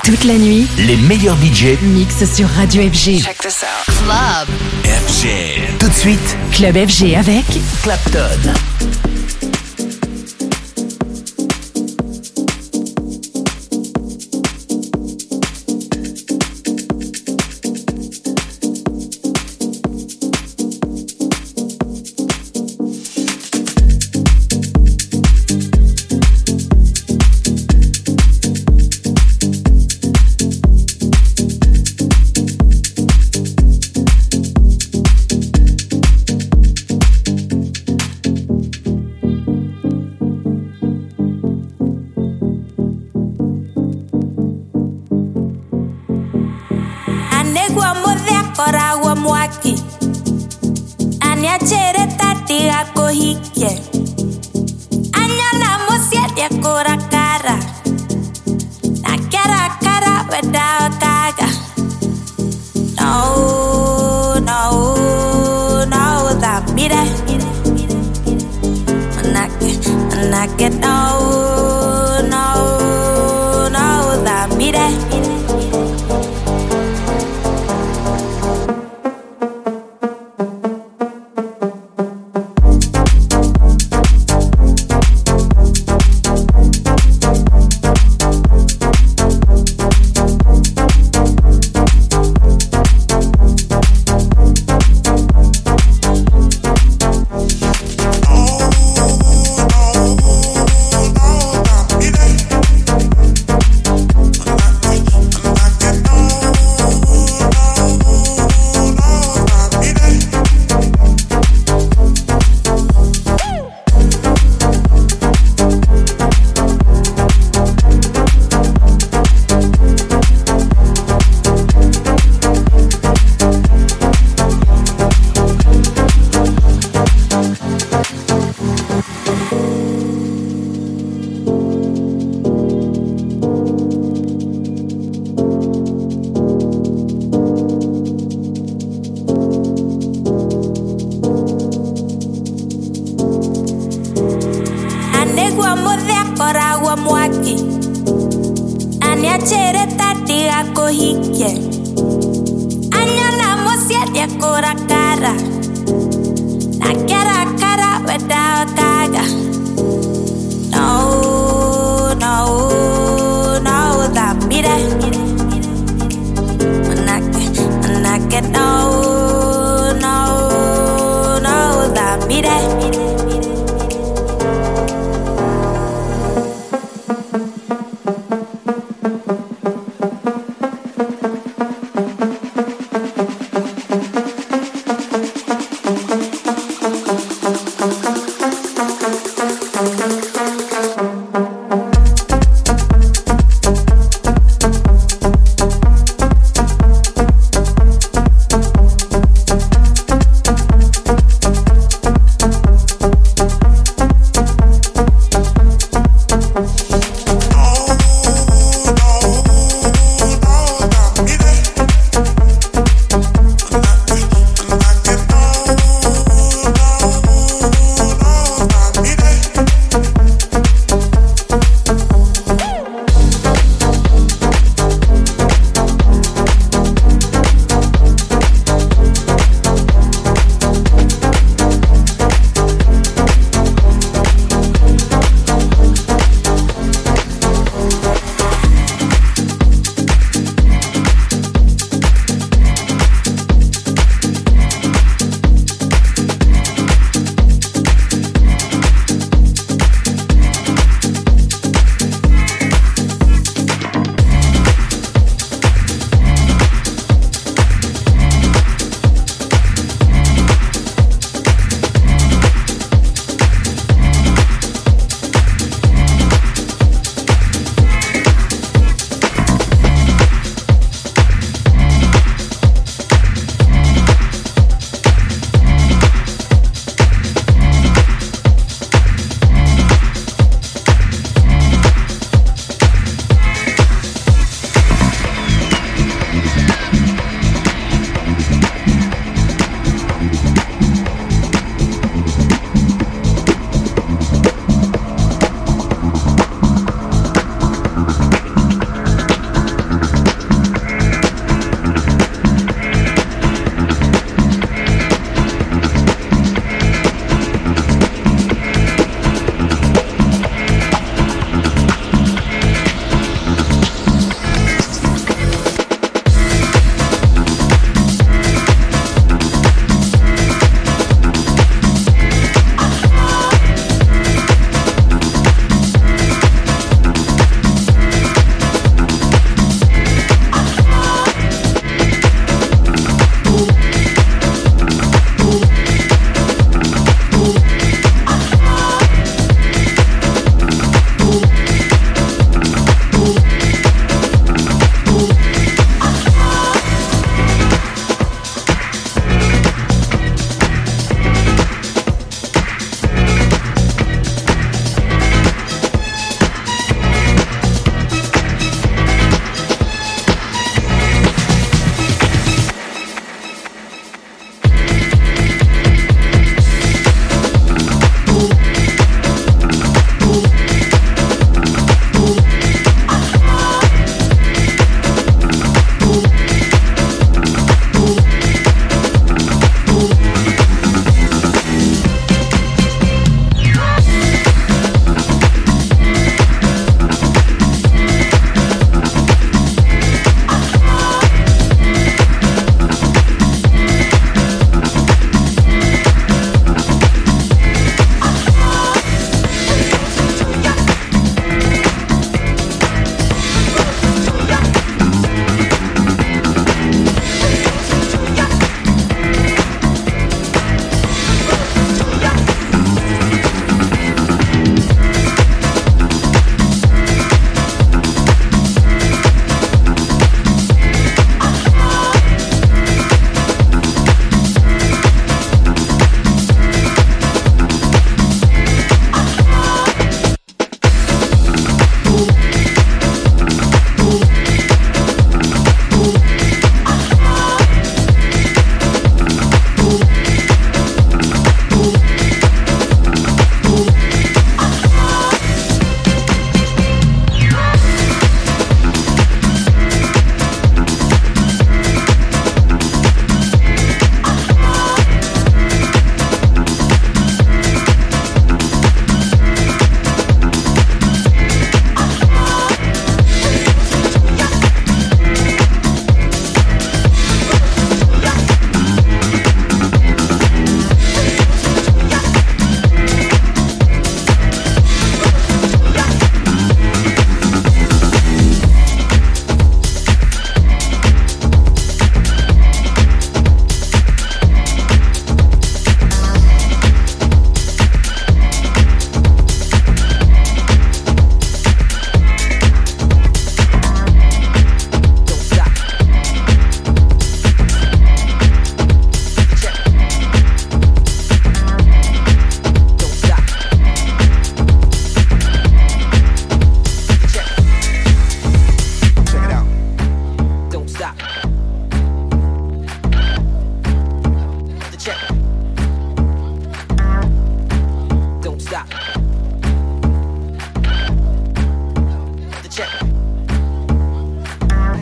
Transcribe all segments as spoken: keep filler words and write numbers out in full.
Toute la nuit, les meilleurs D J mixent sur Radio F G. Check this out. Club F G. Tout de suite, Club F G avec Clapton.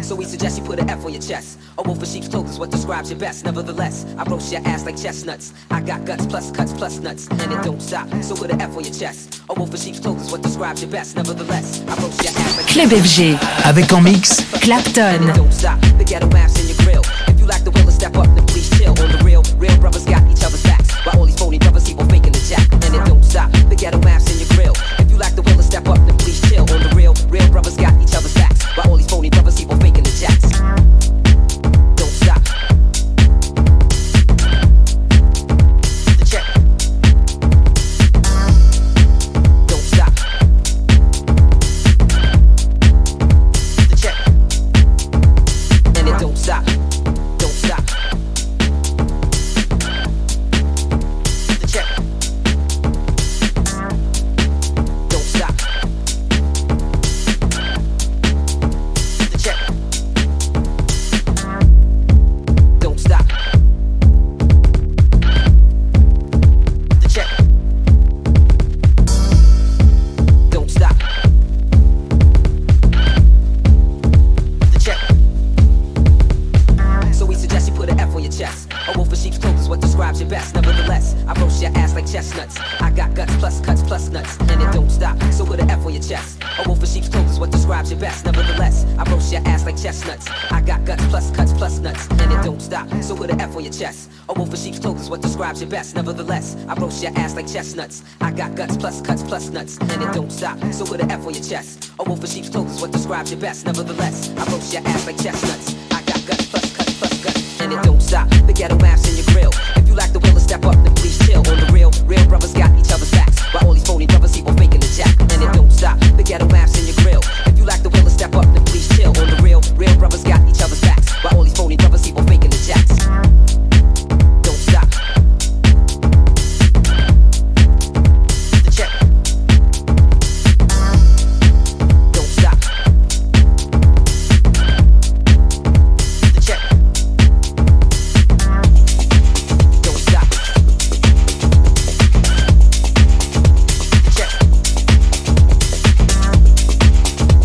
So we suggest you put an F on your chest. A wolf in sheep's clothes is what describes your best. Nevertheless, I roast your ass like chestnuts. I got guts plus cuts plus nuts, and it don't stop. So put an F on your chest. A wolf in sheep's clothes is what describes your best. Nevertheless, I roast your ass like Club F G. Avec en mix Clapton. Don't stop, the ghetto maps in your grill. If you lack the will to step up, then please chill. On the real, real brothers got each other's backs. While all these phony brothers keep on faking the jack. And it don't stop, the ghetto maps in your grill. If you lack the will to step up, then please chill. On the real, real brothers got each other's backs. While all these phony brothers keep on faking the jacks. Don't stop. The check. Don't stop. The check. And it don't stop. Don't stop. The check. Don't stop. The check. Don't stop. The check. Don't stop. The check. So we suggest you put an F on your chest. A wolf in sheep's clothes is what describes your best. Nevertheless, I roast your ass like chestnuts. I got guts plus cuts plus nuts, and it don't stop. So put an F on your chest. A wolf in sheep's clothes is what describes your best. Nevertheless, I roast your ass like chestnuts. I got guts plus cuts plus nuts, and it don't stop. So put an F on your chest. A wolf in sheep's clothes is what describes your best. Nevertheless, I roast your ass like chestnuts. I got guts plus cuts plus nuts, and it don't stop. So put an F on your chest. A wolf in sheep's clothes is what describes your best. Nevertheless, I roast your ass like chestnuts. I got guts plus cuts plus guts, and it don't stop. The ghetto maps in your grill. If you lack the will to step up, then please chill. On the real, real brothers got each other's backs. While all these phony brothers keep on faking the jack. And it don't stop. The ghetto maps in your grill. If you lack the will to step up, then please chill. On the real, real brothers got each other's backs. While all these phony brothers keep on faking the jacks. Don't stop. The check. Don't stop. The check. Don't stop. The check.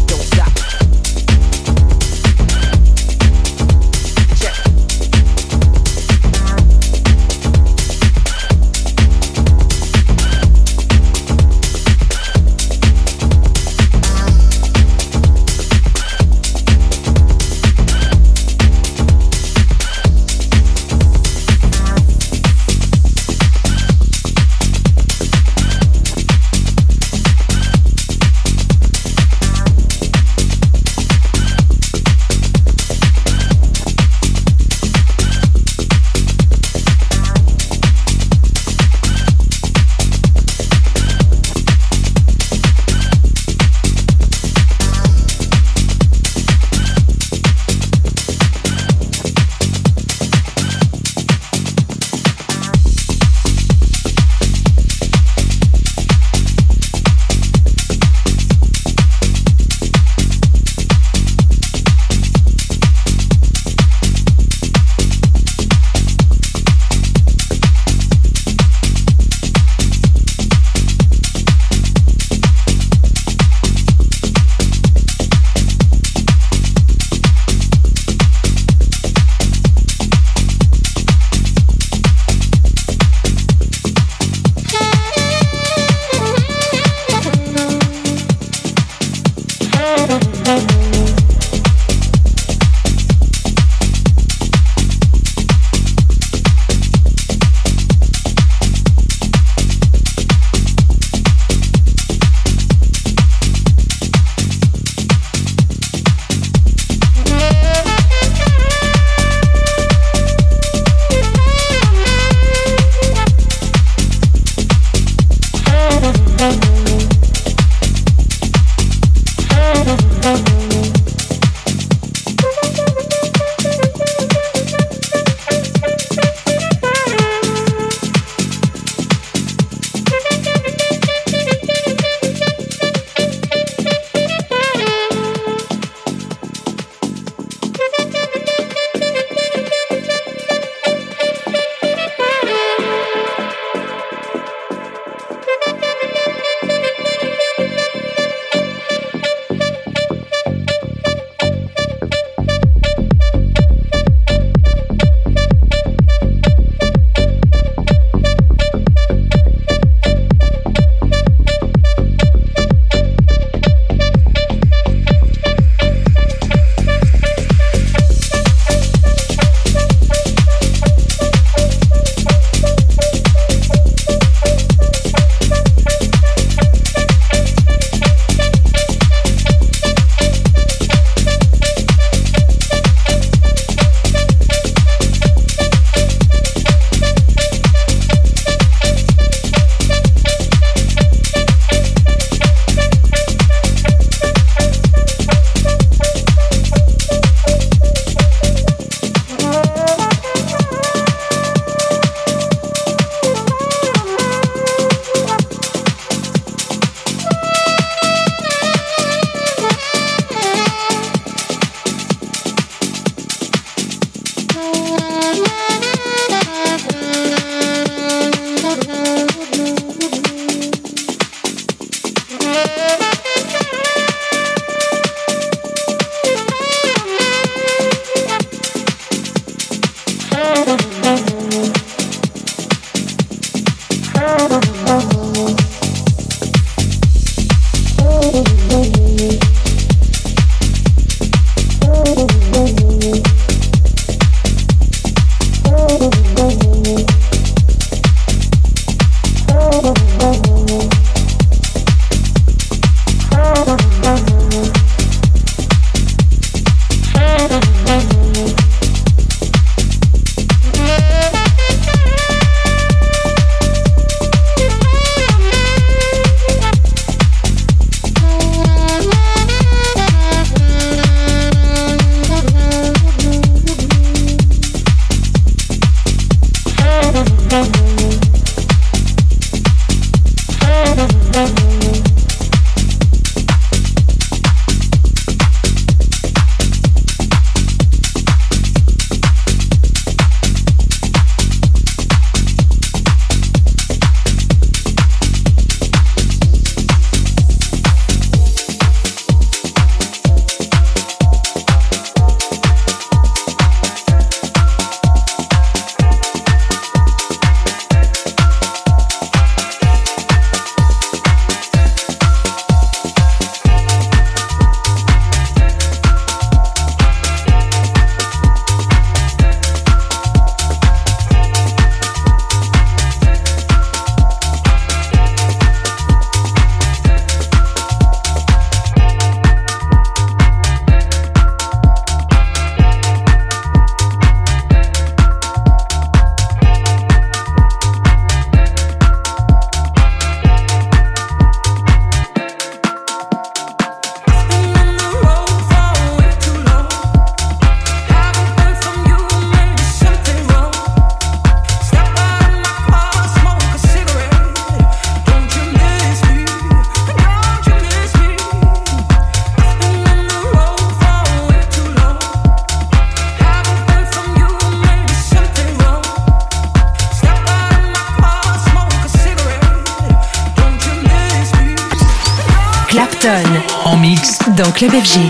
dans Club F G.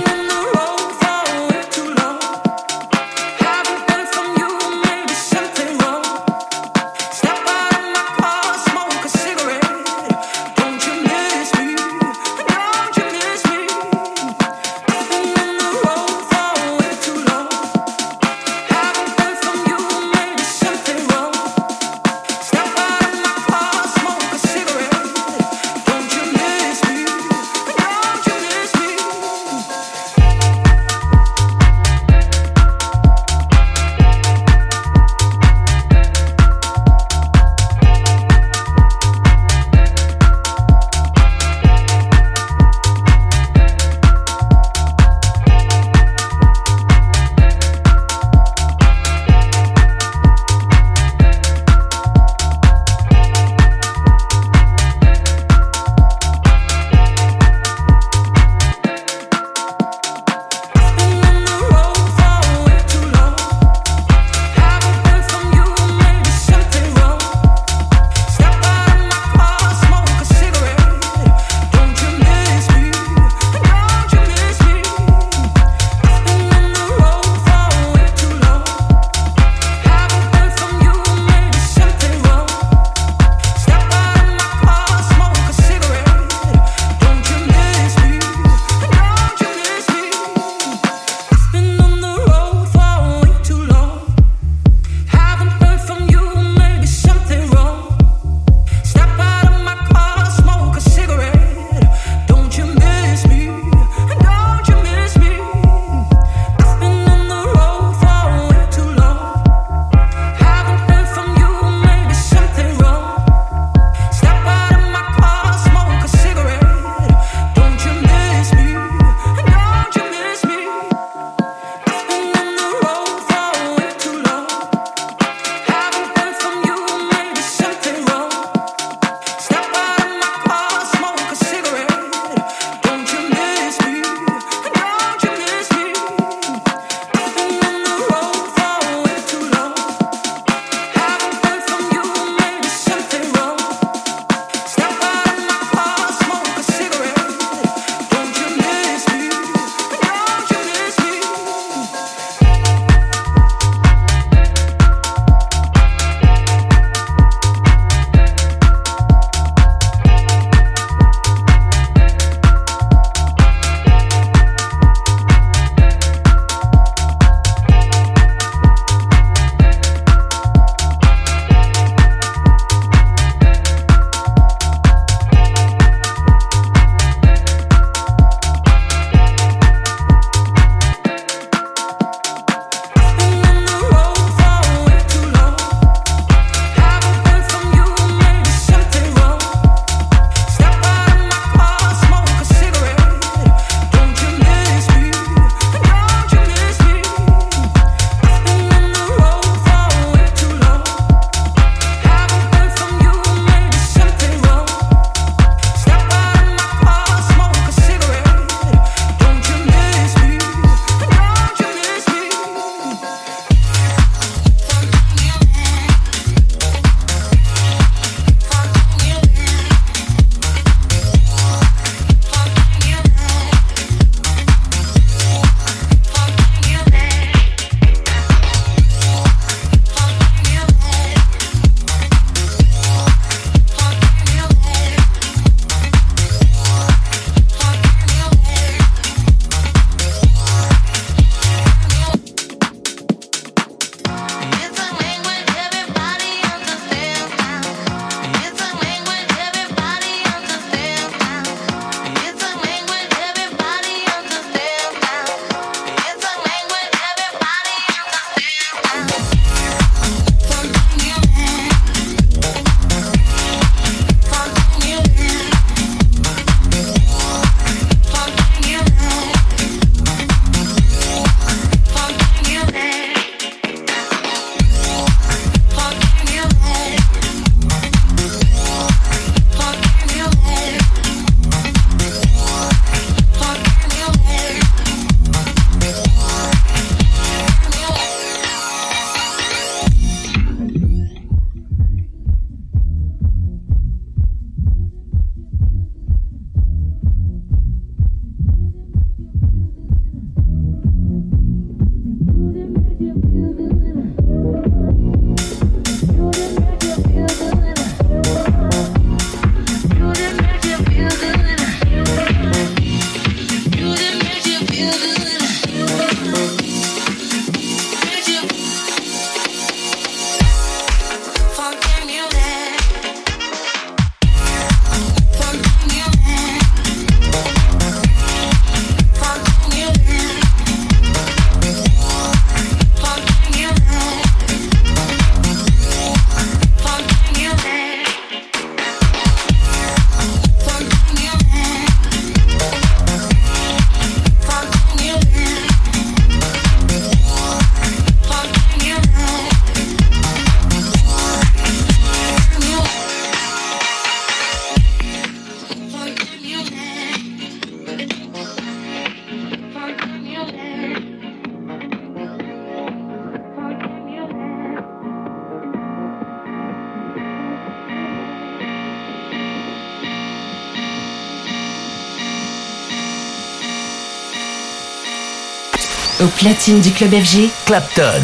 Au platine du club F G, Clapton.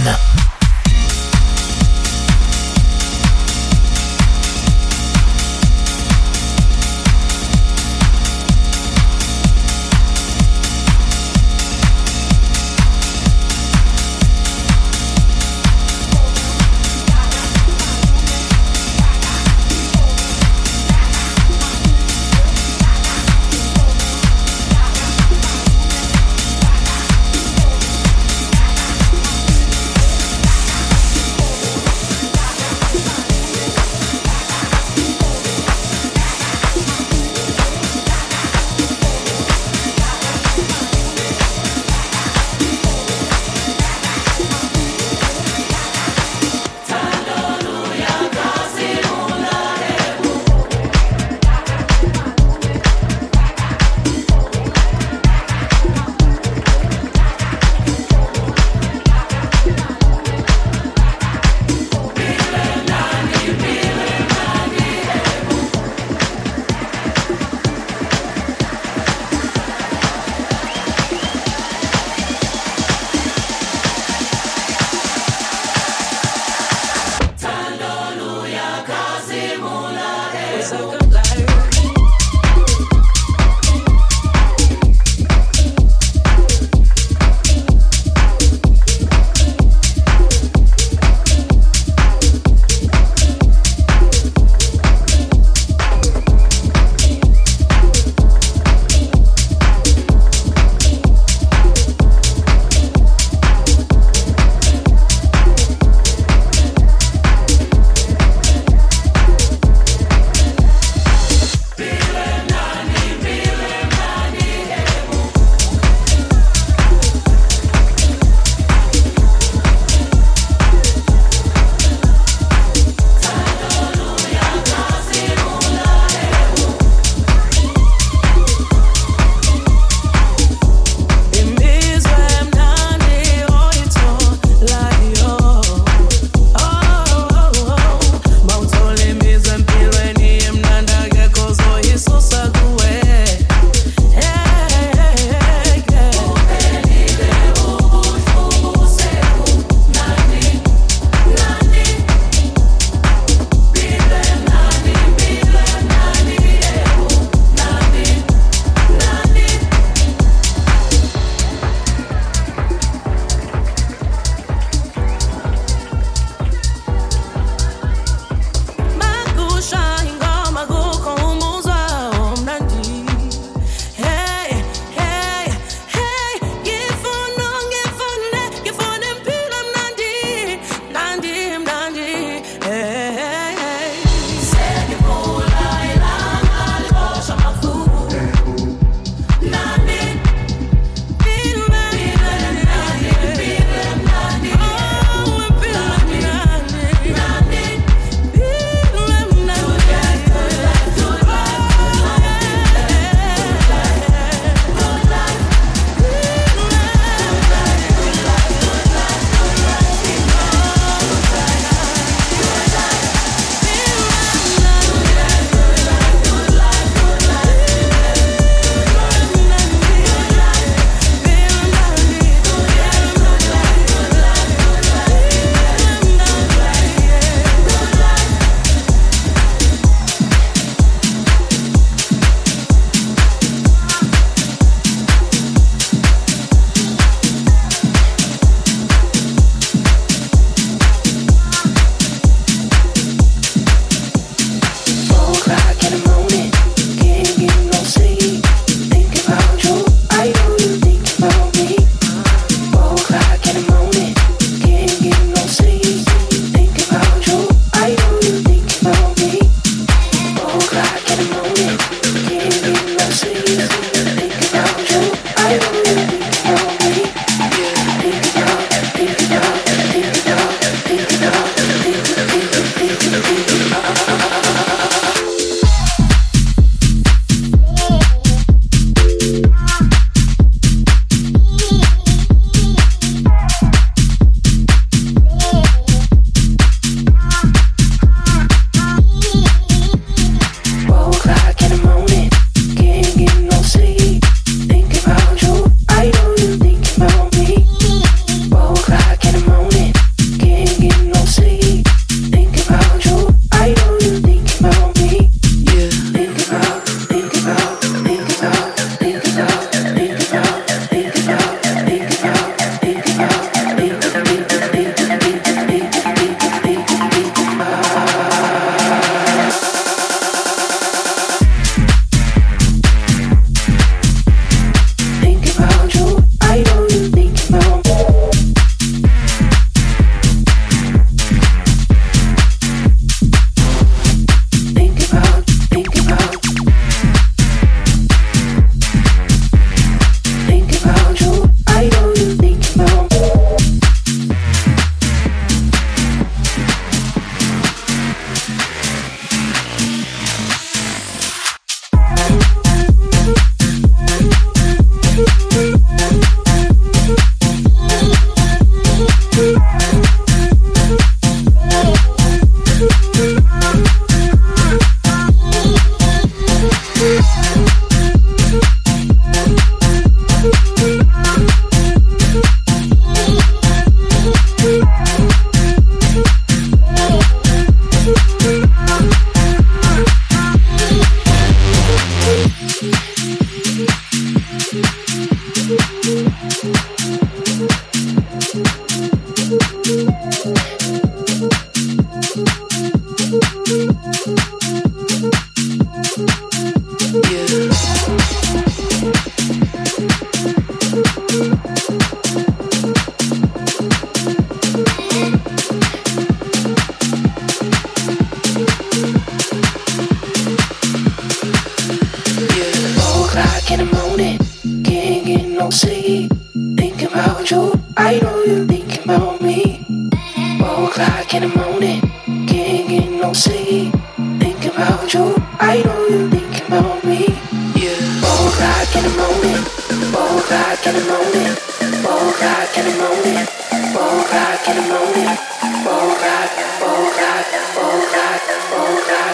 We'll be right back. I know you're thinking about me. Four o'clock in the morning, can't get no sleep. Think about you, I know you're thinking about me. Yeah. Four o'clock in the morning, four o'clock in the morning, four o'clock in the morning, four o'clock in the morning, four o'clock, four o'clock, four o'clock, four o'clock.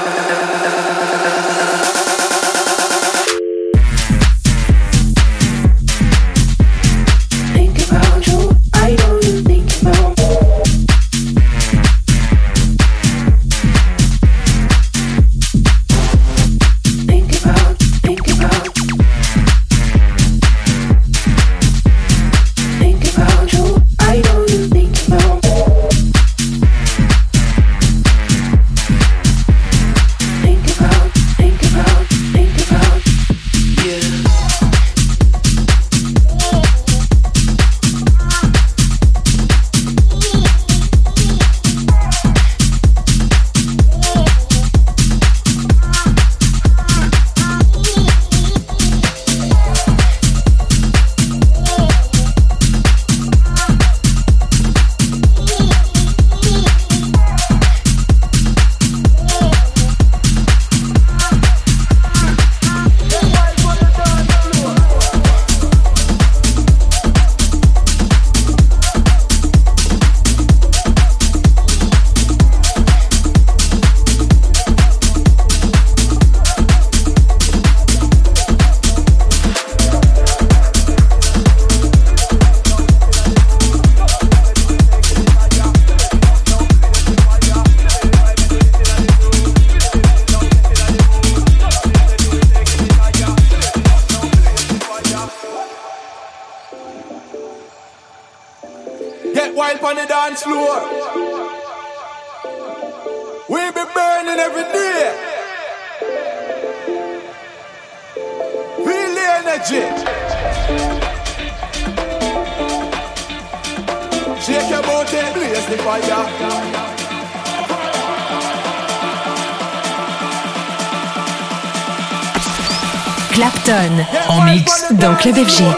Clapton en mix dans Club F G.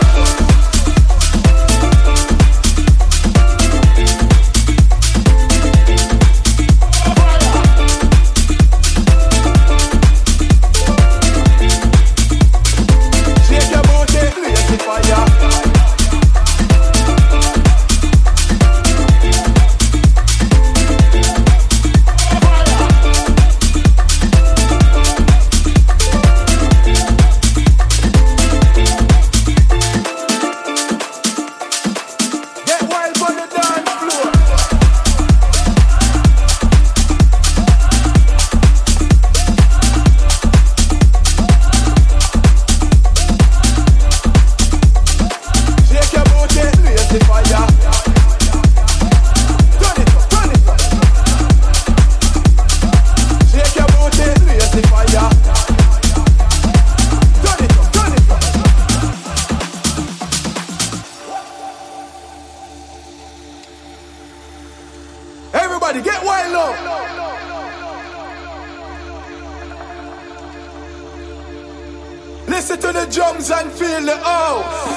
Listen to the drums and feel the house.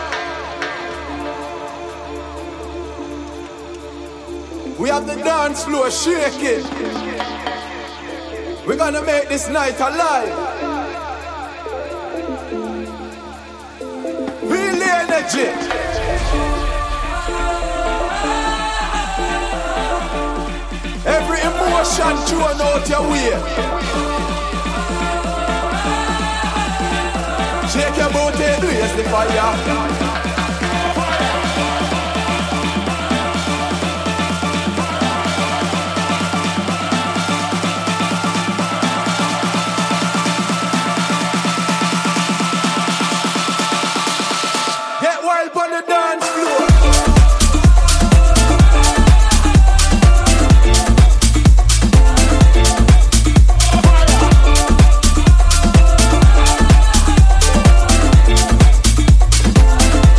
We have the dance floor shaking. We're gonna make this night alive. Feel the energy. Every emotion thrown out your way. Shake your booty, blaze the fire. Fire.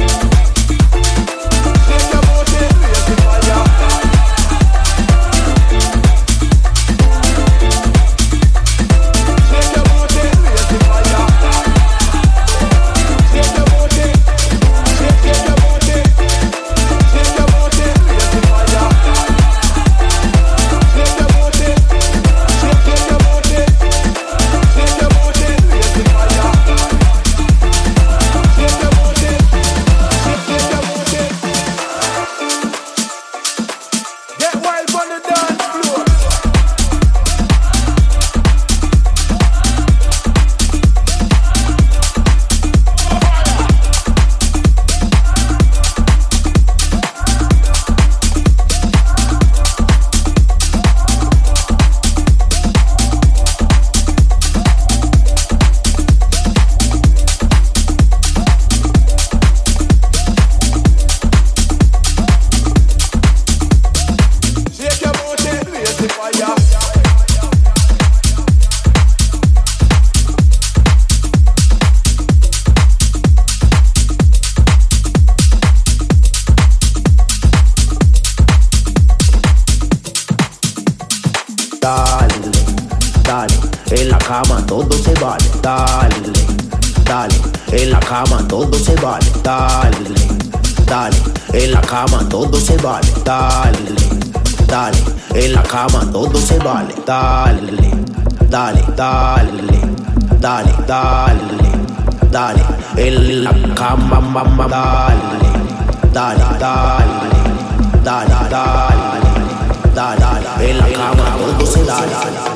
cama todo se vale, dale, dale, en la cama todo se vale, dale, dale, en la cama todo se vale, dale, dale, en la cama todo se vale, dale, dale, dale, dale, dale, dale, en la cama, mamá, dale, dale, dale, dale, dale, dale, en la cama todo se dale.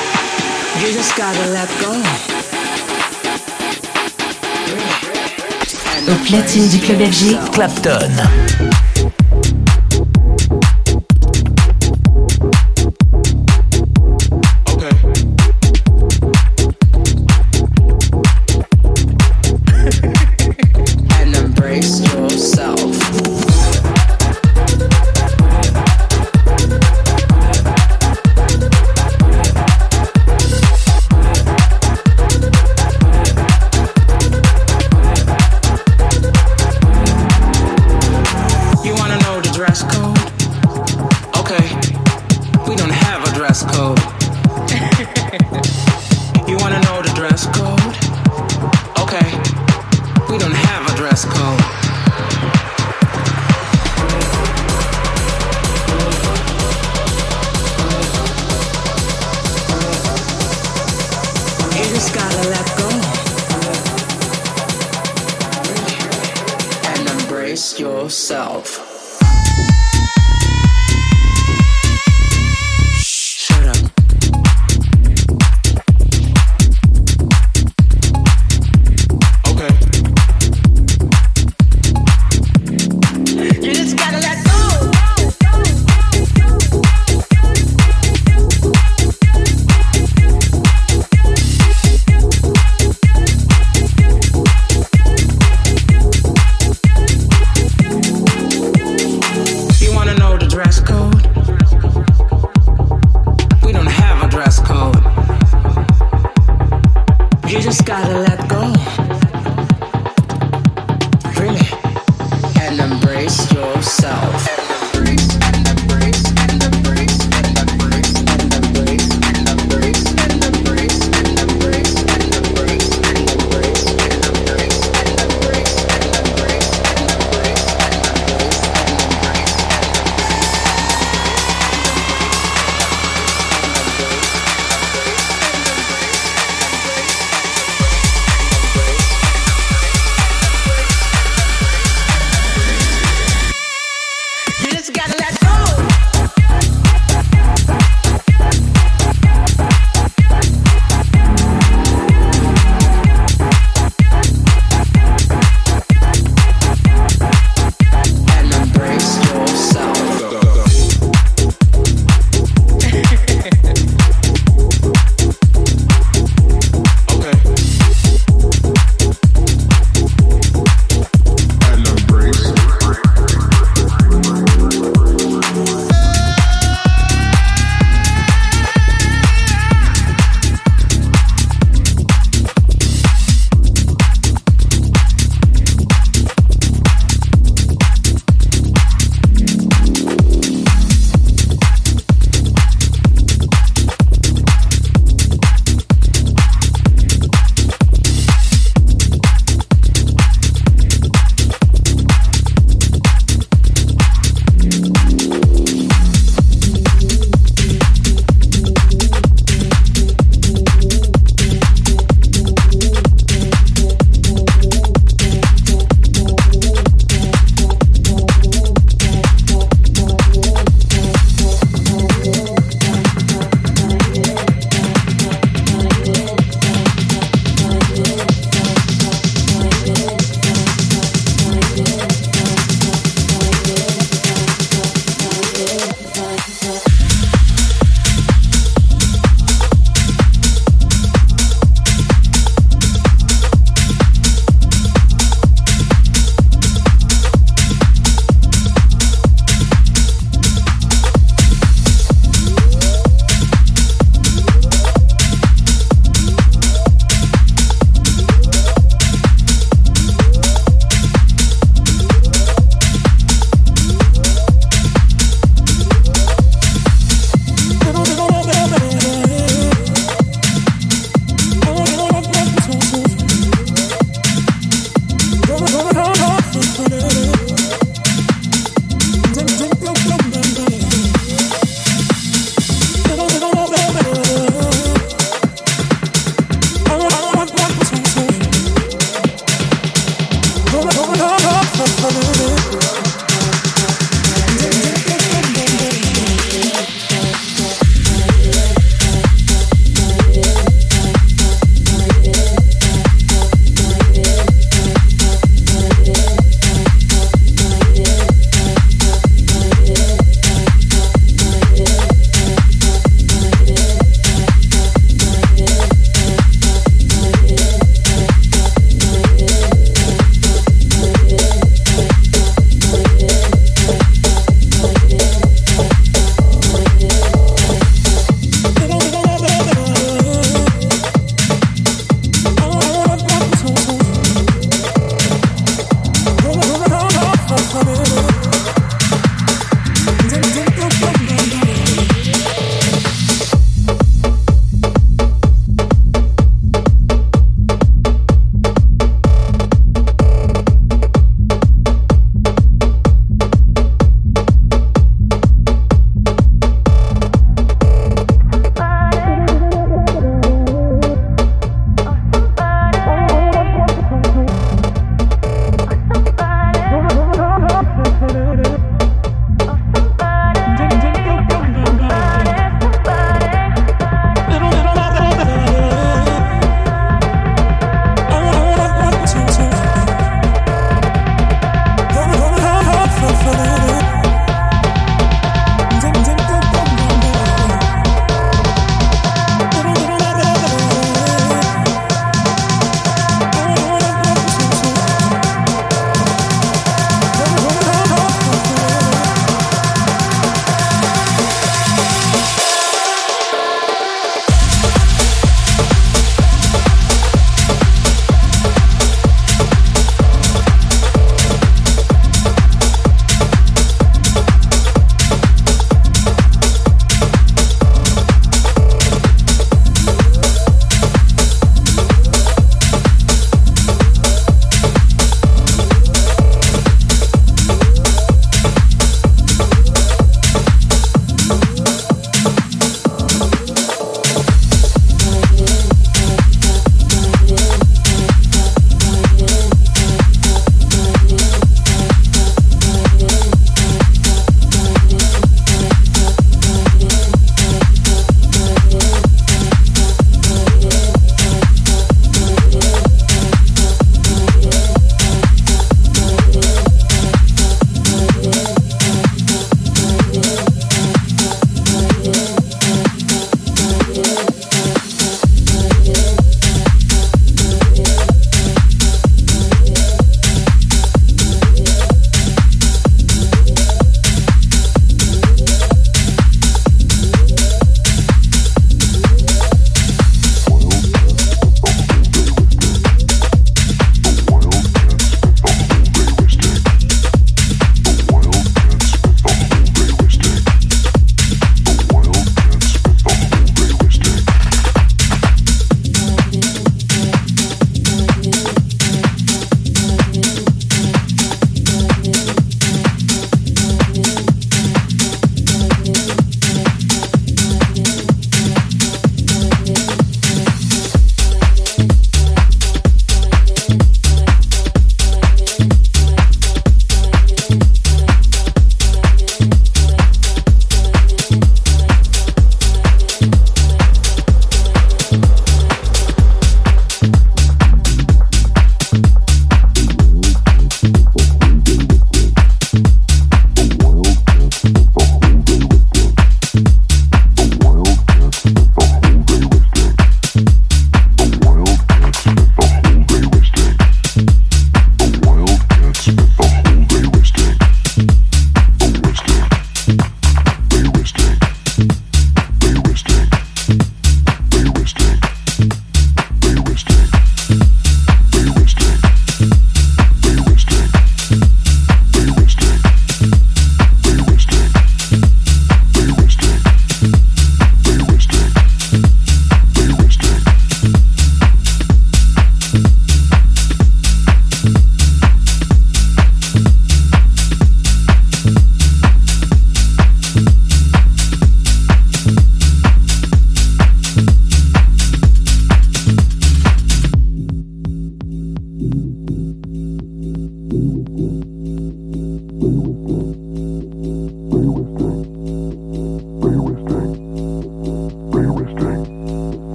You just gotta let go. Au platine du club F G, Clapton.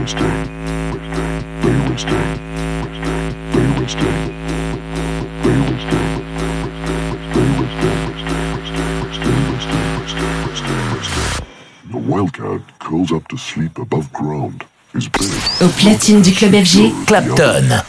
Au platine du club F G, Clapton.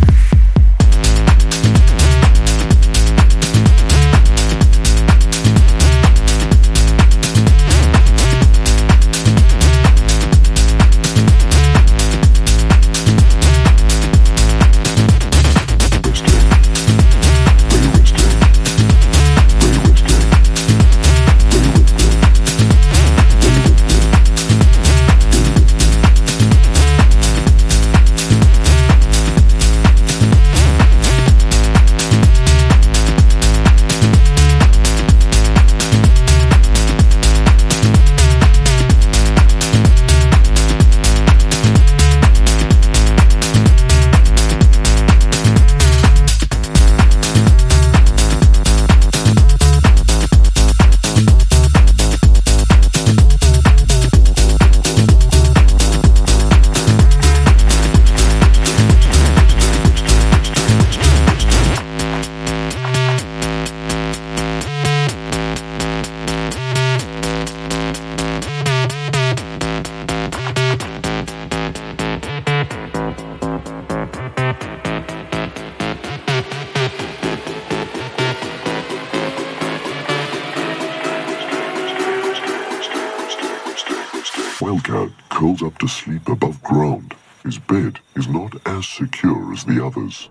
Wildcat curls up to sleep above ground. His bed is not as secure as the others.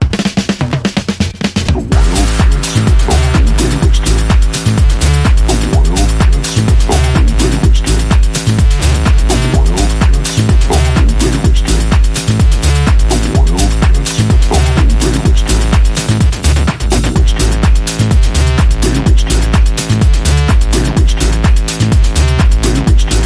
The wildcat spent the whole day resting. The wildcat spent the whole day resting. The wildcat spent the whole day resting. The wildcat spent the whole day resting. The resting. They resting. They resting. They resting.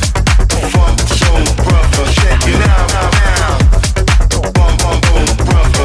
Brother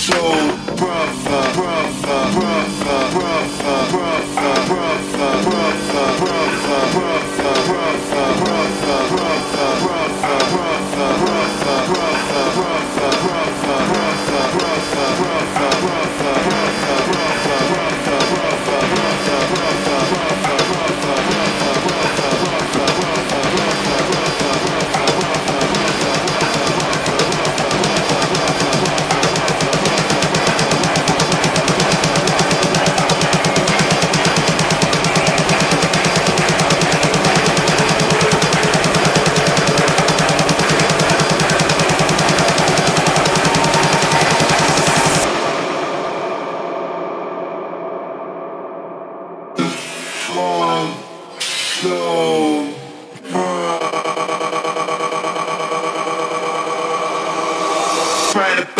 Trying to